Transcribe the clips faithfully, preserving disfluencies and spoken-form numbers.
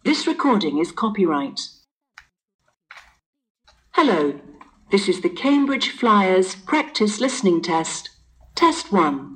This recording is copyright. Hello, this is the Cambridge Flyers practice listening test. Test one.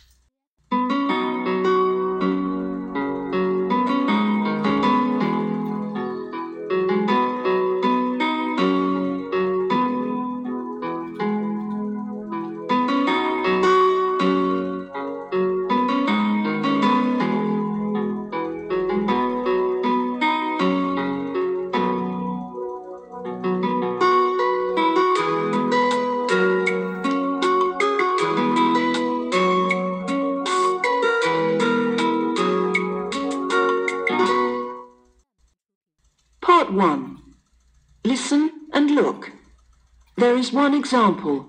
Part one. Listen and look. There is one example.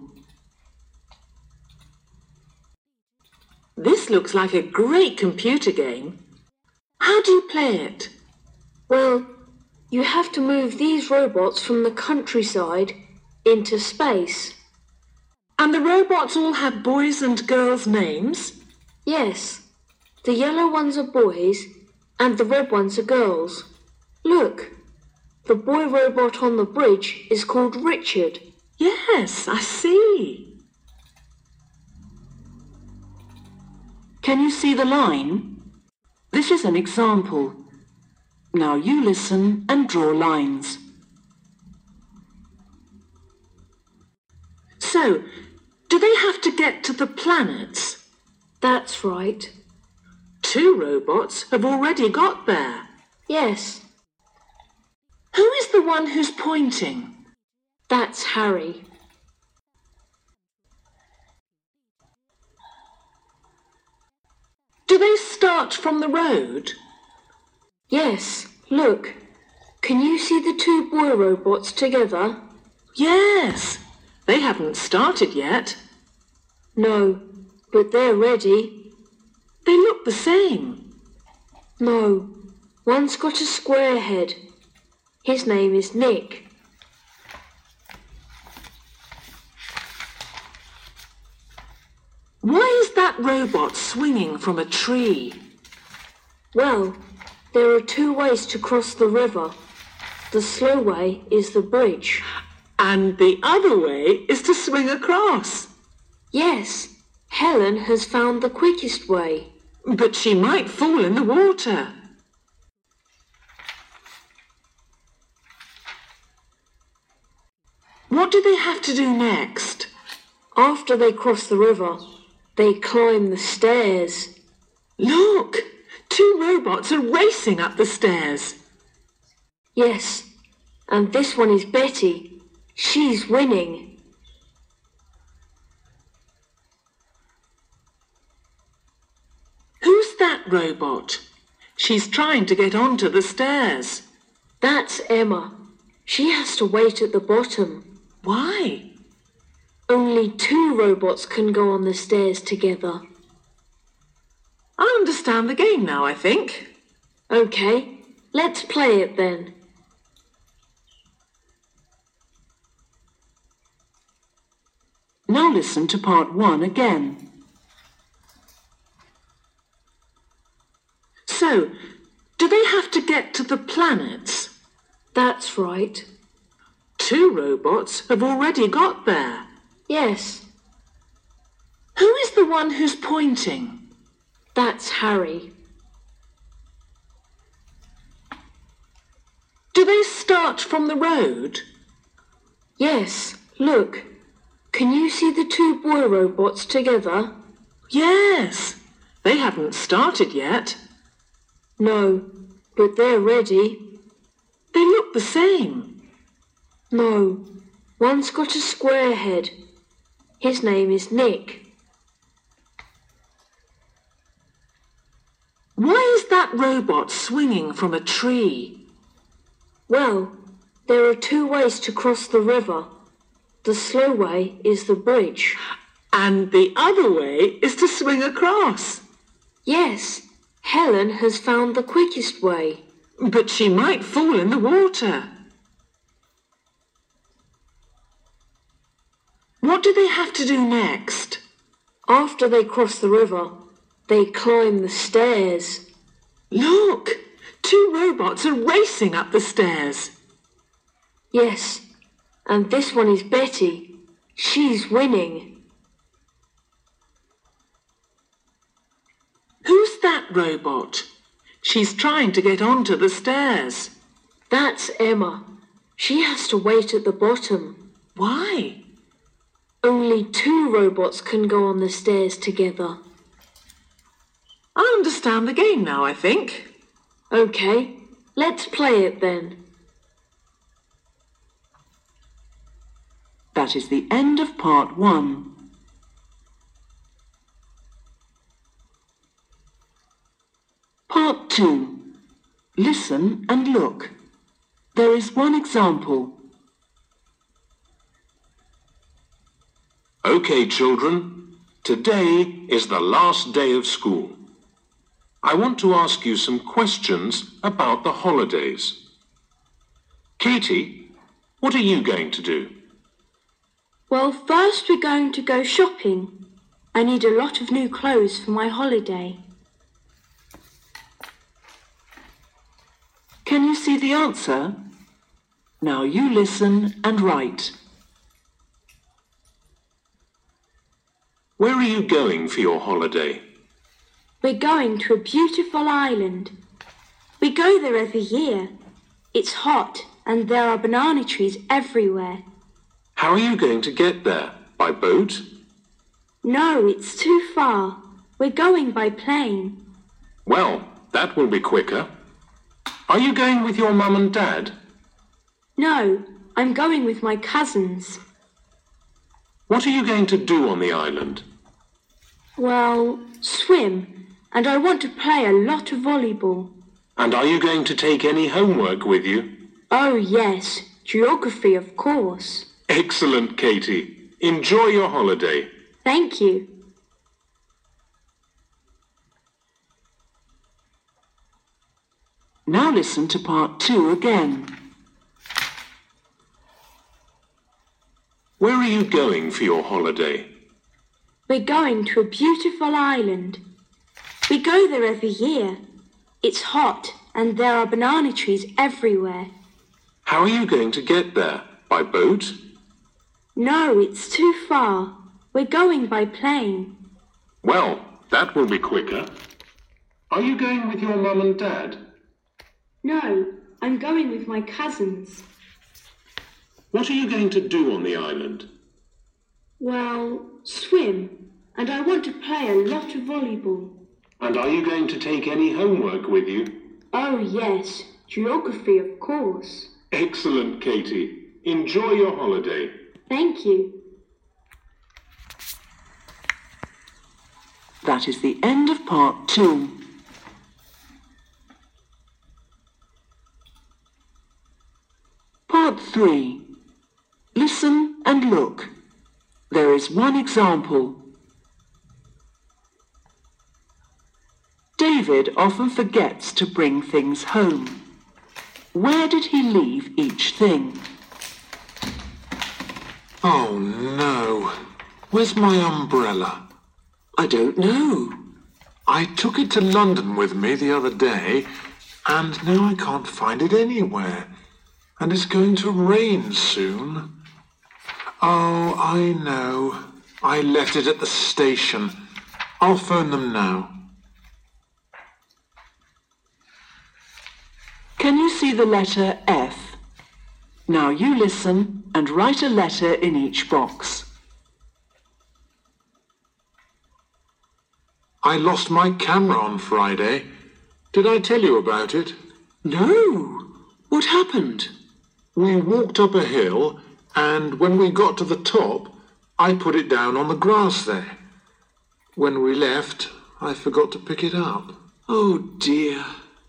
This looks like a great computer game. How do you play it? Well, you have to move these robots from the countryside into space. And the robots all have boys' and girls' names? Yes, the yellow ones are boys and the red ones are girls. Look, the boy robot on the bridge is called Richard. Yes, I see. Can you see the line? This is an example. Now you listen and draw lines. So, do they have to get to the planets? That's right. Two robots have already got there. Yes, Who is the one who's pointing? that's Harry. Do they start from the road? Yes, look. Can you see the two boy robots together? Yes, they haven't started yet. No, but they're ready. They look the same. No, one's got a square head. His name is Nick. Why is that robot swinging from a tree? Well, there are two ways to cross the river. The slow way is the bridge. And the other way is to swing across. Yes, Helen has found the quickest way. But she might fall in the water. What do they have to do next? After they cross the river, they climb the stairs. Look, two robots are racing up the stairs. Yes, and this one is Betty. She's winning. Who's that robot? She's trying to get onto the stairs. That's Emma. She has to wait at the bottom. Why? Only two robots can go on the stairs together. I understand the game now, I think. Okay, let's play it then. Now listen to part one again. So, do they have to get to the planets? That's right. Two robots have already got there. Yes, Who is the one who's pointing? that's Harry. Do they start from the road? Yes, look. Can you see the two boy robots together? Yes, they haven't started yet. No, but they're ready. They look the same. No, one's got a square head. His name is Nick. Why is that robot swinging from a tree? Well, there are two ways to cross the river. The slow way is the bridge. And the other way is to swing across. Yes, Helen has found the quickest way. But she might fall in the water. What do they have to do next? After they cross the river, they climb the stairs. Look, two robots are racing up the stairs. Yes, and this one is Betty. She's winning. Who's that robot? She's trying to get onto the stairs. That's Emma. She has to wait at the bottom. Why? Only two robots can go on the stairs together. I understand the game now, I think. Okay, let's play it then. That is the end of part one. Part two. Listen and look. There is one example. Okay, children, today is the last day of school. I want to ask you some questions about the holidays. Katie, what are you going to do? Well, first we're going to go shopping. I need a lot of new clothes for my holiday. Can you see the answer? Now you listen and write. Where are you going for your holiday? We're going to a beautiful island. We go there every year. It's hot and there are banana trees everywhere. How are you going to get there? By boat? No, it's too far. We're going by plane. Well, that will be quicker. Are you going with your mum and dad? No, I'm going with my cousins. What are you going to do on the island? Well, swim, and I want to play a lot of volleyball. And are you going to take any homework with you? Oh, yes, geography, of course. Excellent, Katie. Enjoy your holiday. Thank you. Now listen to part two again. Where are you going for your holiday? We're going to a beautiful island. We go there every year. It's hot and there are banana trees everywhere. How are you going to get there? By boat? No, it's too far. We're going by plane. Well, that will be quicker. Are you going with your mum and dad? No, I'm going with my cousins. What are you going to do on the island? Well, swim, and I want to play a lot of volleyball. And are you going to take any homework with you? Oh, yes, geography, of course. Excellent, Katie. Enjoy your holiday. Thank you. That is the end of part two. Part three. Listen and look. There is one example. David often forgets to bring things home. Where did he leave each thing? Oh no. Where's my umbrella? I don't know. I took it to London with me the other day, and now I can't find it anywhere. And it's going to rain soon. Oh, I know. I left it at the station. I'll phone them now. Can you see the letter F? Now you listen and write a letter in each box. I lost my camera on Friday. Did I tell you about it? No. What happened? We walked up a hill, and when we got to the top, I put it down on the grass there. When we left, I forgot to pick it up. Oh dear.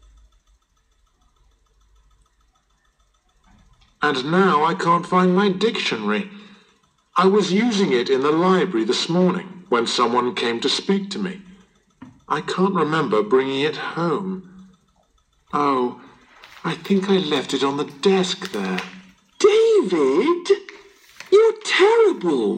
And now I can't find my dictionary. I was using it in the library this morning when someone came to speak to me. I can't remember bringing it home. Oh, I think I left it on the desk there. David, you're terrible.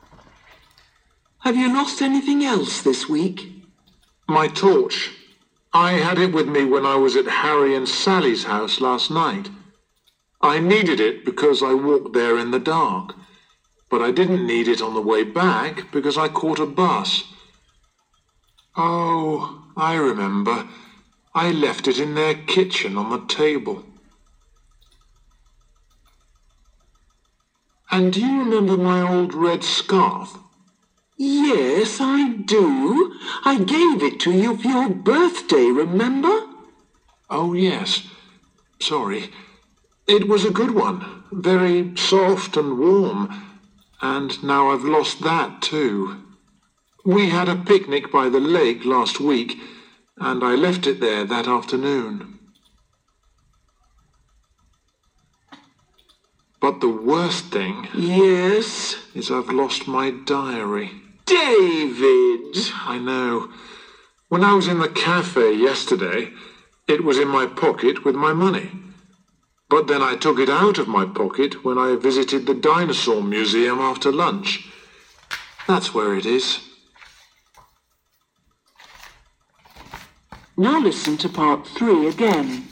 Have you lost anything else this week? My torch. I had it with me when I was at Harry and Sally's house last night. I needed it because I walked there in the dark, but I didn't need it on the way back because I caught a bus. Oh, I remember. I left it in their kitchen on the table. And do you remember my old red scarf? Yes, I do. I gave it to you for your birthday, remember? Oh, yes. Sorry. It was a good one. Very soft and warm. And now I've lost that too. We had a picnic by the lake last week, and I left it there that afternoon. But the worst thing... Yes? ...is I've lost my diary. David! I know. When I was in the cafe yesterday, it was in my pocket with my money. But then I took it out of my pocket when I visited the dinosaur museum after lunch. That's where it is. Now listen to part three again.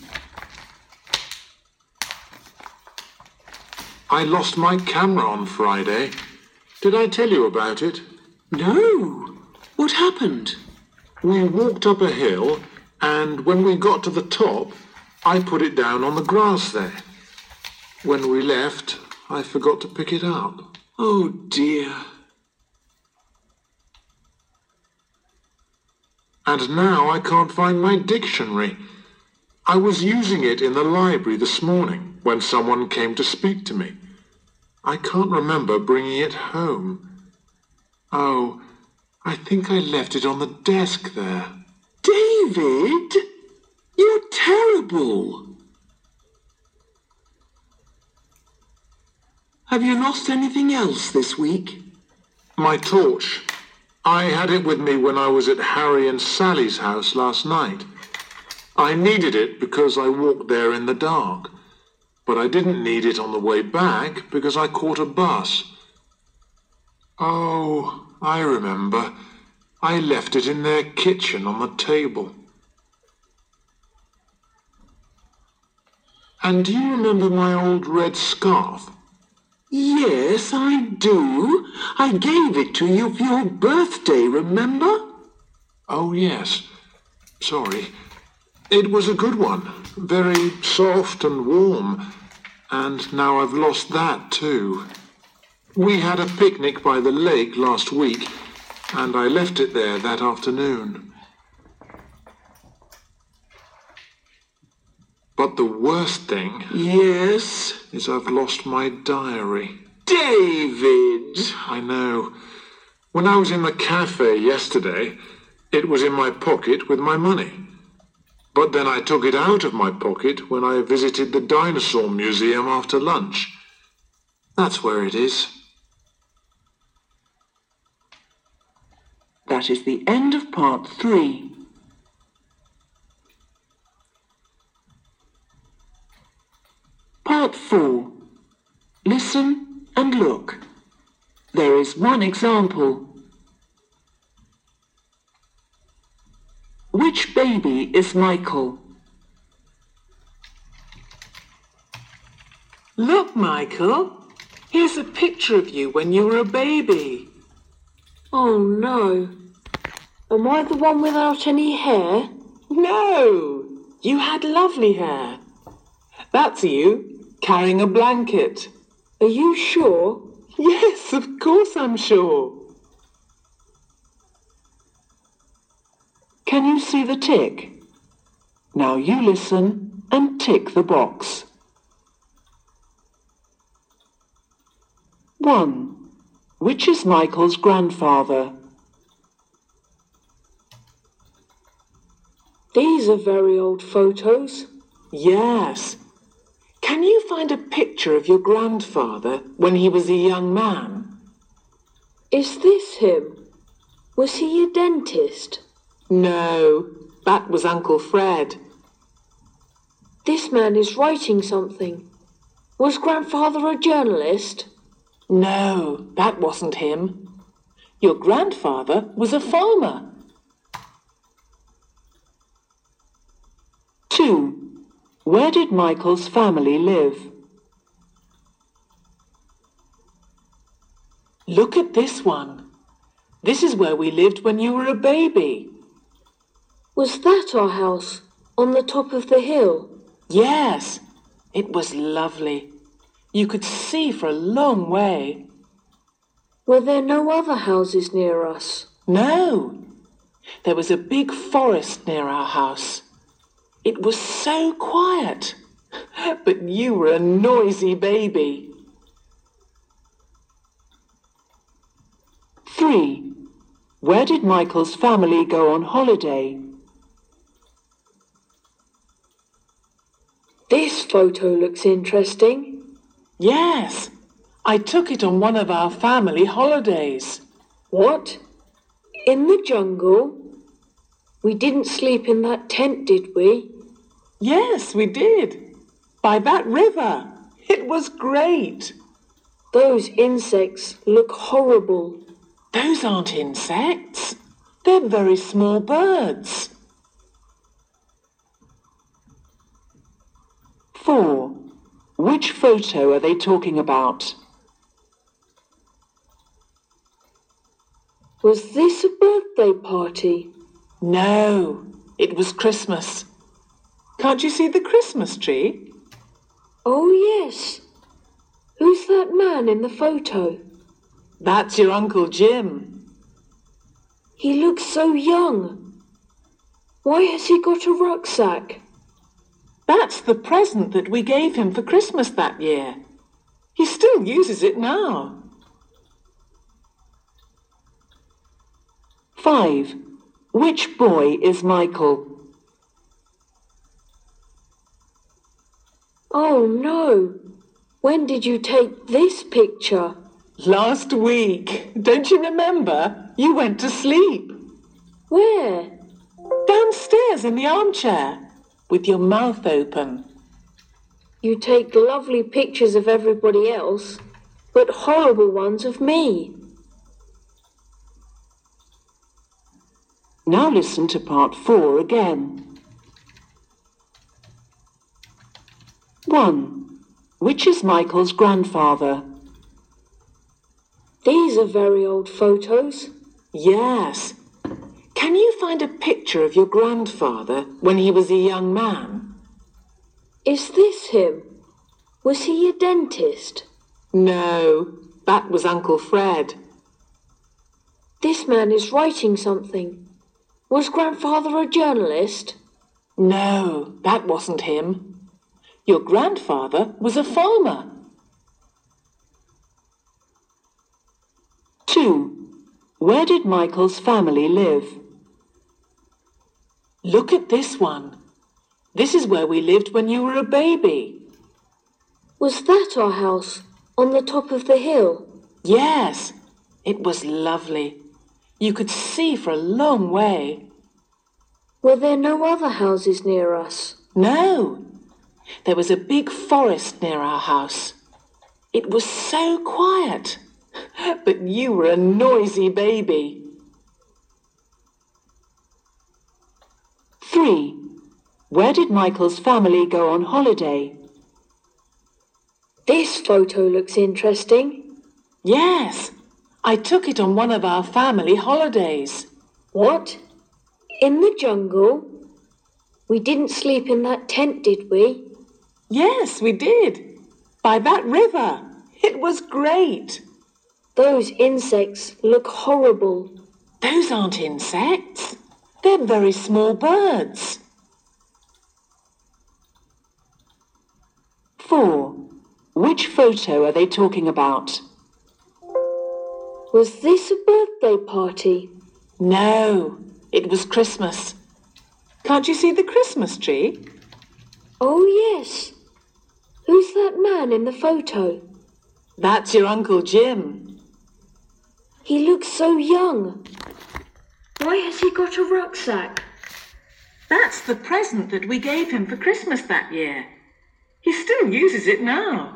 I lost my camera on Friday. Did I tell you about it? No. What happened? We walked up a hill, and when we got to the top, I put it down on the grass there. When we left, I forgot to pick it up. Oh, dear. And now I can't find my dictionary. I was using it in the library this morning when someone came to speak to me. I can't remember bringing it home. Oh, I think I left it on the desk there. David, you're terrible. Have you lost anything else this week? My torch. I had it with me when I was at Harry and Sally's house last night. I needed it because I walked there in the dark, but I didn't need it on the way back because I caught a bus. Oh, I remember. I left it in their kitchen on the table. And do you remember my old red scarf? Yes, I do. I gave it to you for your birthday, remember? Oh, yes. Sorry. It was a good one. Very soft and warm. And now I've lost that too. We had a picnic by the lake last week, and I left it there that afternoon. But the worst thing... Yes? ...is I've lost my diary. David! I know. When I was in the cafe yesterday, it was in my pocket with my money. But then I took it out of my pocket when I visited the dinosaur museum after lunch. That's where it is. That is the end of part three. Part four. Listen and look. There is one example. Which baby is Michael? Look, Michael. Here's a picture of you when you were a baby. Oh no. Am I the one without any hair? No, you had lovely hair. That's you, carrying a blanket. Are you sure? Yes, of course I'm sure. Can you see the tick? Now you listen and tick the box. One. Which is Michael's grandfather? These are very old photos. Yes. Can you find a picture of your grandfather when he was a young man? Is this him? Was he a dentist? No, that was Uncle Fred. This man is writing something. Was grandfather a journalist? No, that wasn't him. Your grandfather was a farmer. Two. Where did Michael's family live? Look at this one. This is where we lived when you were a baby. Was that our house on the top of the hill? Yes, it was lovely. You could see for a long way. Were there no other houses near us? No, there was a big forest near our house. It was so quiet, but you were a noisy baby. Three. Where did Michael's family go on holiday? This photo looks interesting. Yes, I took it on one of our family holidays. What? In the jungle? We didn't sleep in that tent, did we? Yes, we did. By that river. It was great. Those insects look horrible. Those aren't insects. They're very small birds. Four. Which photo are they talking about? Was this a birthday party? No, it was Christmas. Can't you see the Christmas tree? Oh, yes. Who's that man in the photo? That's your Uncle Jim. He looks so young. Why has he got a rucksack? That's the present that we gave him for Christmas that year. He still uses it now. Five. Which boy is Michael? Oh, no. When did you take this picture? Last week. Don't you remember? You went to sleep. Where? Downstairs in the armchair, with your mouth open. You take lovely pictures of everybody else, but horrible ones of me. Now listen to part four again. One. Which is Michael's grandfather? These are very old photos. Yes. Can you find a picture of your grandfather when he was a young man? Is this him? Was he a dentist? No, that was Uncle Fred. This man is writing something. Was grandfather a journalist? No, that wasn't him. Your grandfather was a farmer. Two. Where did Michael's family live? Look at this one. This is where we lived when you were a baby. Was that our house on the top of the hill? Yes, it was lovely. You could see for a long way. Were there no other houses near us? No, there was a big forest near our house. It was so quiet, but you were a noisy baby. Three. Where did Michael's family go on holiday? This photo looks interesting. Yes, I took it on one of our family holidays. What? In the jungle? We didn't sleep in that tent, did we? Yes, we did. By that river. It was great. Those insects look horrible. Those aren't insects. They're very small birds. Four. Which photo are they talking about? Was this a birthday party? No, it was Christmas. Can't you see the Christmas tree? Oh, yes. Who's that man in the photo? That's your Uncle Jim. He looks so young. Why has he got a rucksack? That's the present that we gave him for Christmas that year. He still uses it now.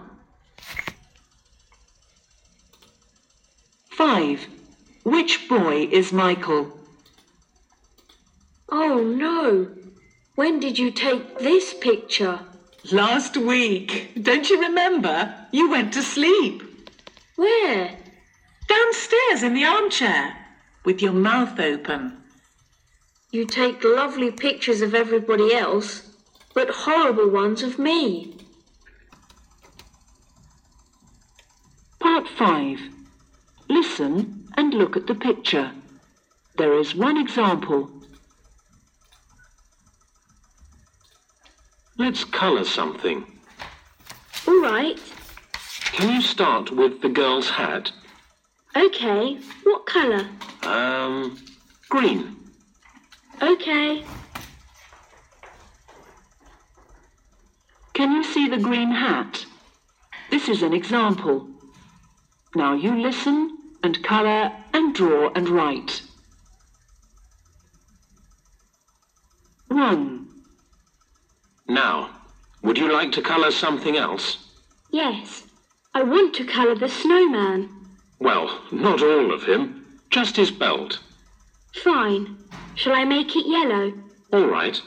Five. Which boy is Michael? Oh, no. When did you take this picture? Last week. Don't you remember? You went to sleep. Where? Downstairs in the armchair, with your mouth open. You take lovely pictures of everybody else, but horrible ones of me. Part five. Listen and look at the picture. There is one example. Let's colour something. All right. Can you start with the girl's hat? Okay. What colour? Um, green. Okay. Can you see the green hat? This is an example. Now you listen and colour and draw and write. One. Now, would you like to colour something else? Yes. I want to colour the snowman. Well, not all of him, just his belt. Fine. Shall I make it yellow? All right.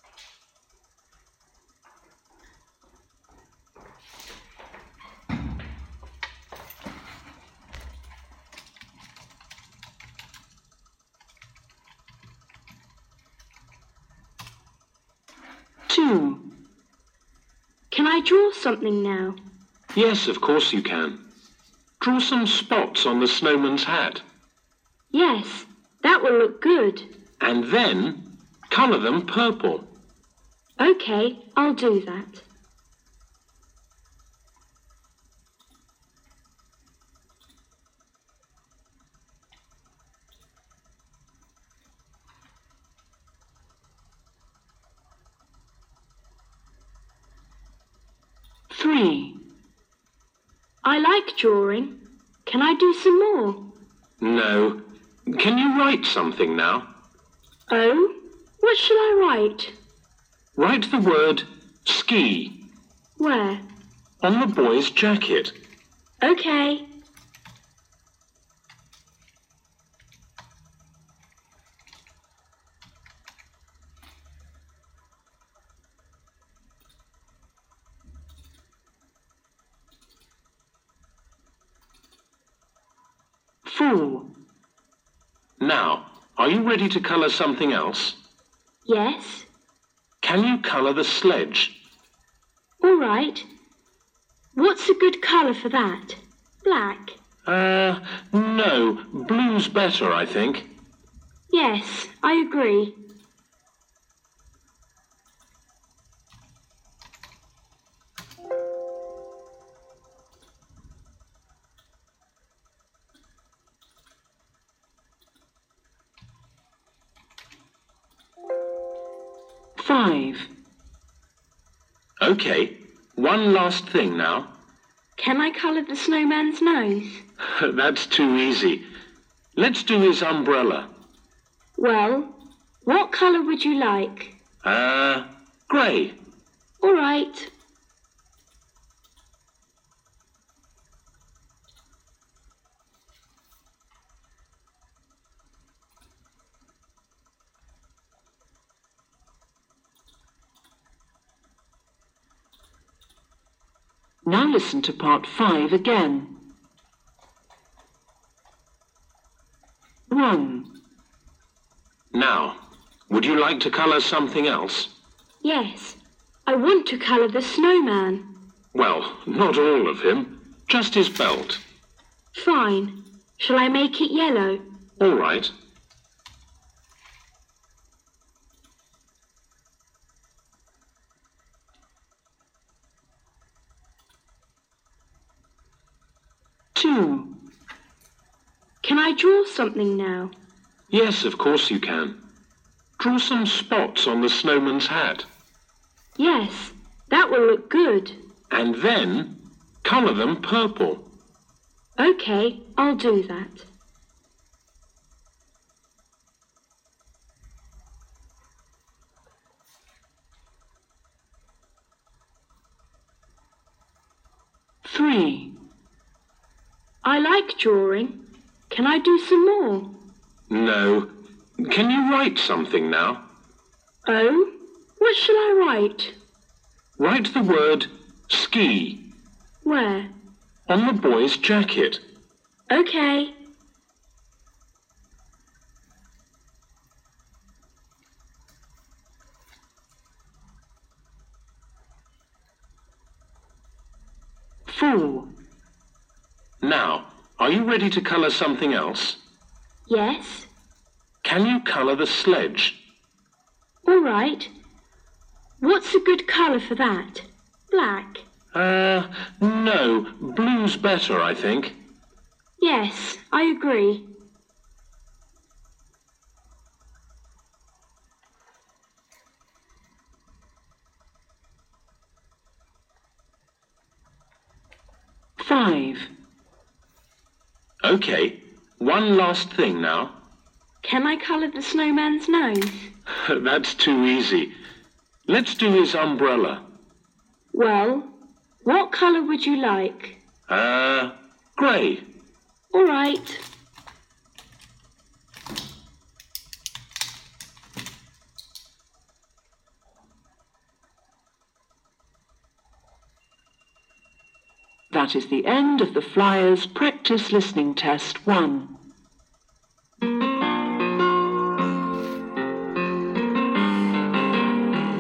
Two. Can I draw something now? Yes, of course you can. Draw some spots on the snowman's hat. Yes, that will look good. And then colour them purple. Okay, I'll do that. Three. I like drawing. Can I do some more? No. Can you write something now? Oh, what shall I write? Write the word ski Where? on the boy's jacket. Okay. Four. Now, are you ready to colour something else? Yes. Can you colour the sledge? All right. What's a good colour for that? Black? Uh, no. Blue's better, I think. Yes, I agree. Five. OK. One last thing now. Can I colour the snowman's nose? That's too easy. Let's do his umbrella. Well, what colour would you like? Uh, grey. All right. Now listen to part five again. One. Now, would you like to colour something else? Yes, I want to colour the snowman. Well, not all of him, just his belt. Fine. Shall I make it yellow? All right. Two. Can I draw something now? Yes, of course you can. Draw some spots on the snowman's hat. Yes, that will look good. And then colour them purple. Okay, I'll do that. Three. I like drawing. Can I do some more? No. Can you write something now? Oh, what What shall I write? Write the word ski Where? on the boy's jacket. Okay. Four. Now, are you ready to colour something else? Yes. Can you colour the sledge? All right. What's a good colour for that? Black? Uh, no, blue's better, I think. Yes, I agree. Five. OK, one last thing now. Can I colour the snowman's nose? That's too easy. Let's do his umbrella. Well, what colour would you like? Uh, grey. All right. That is the end of the Flyers Practice Listening Test one.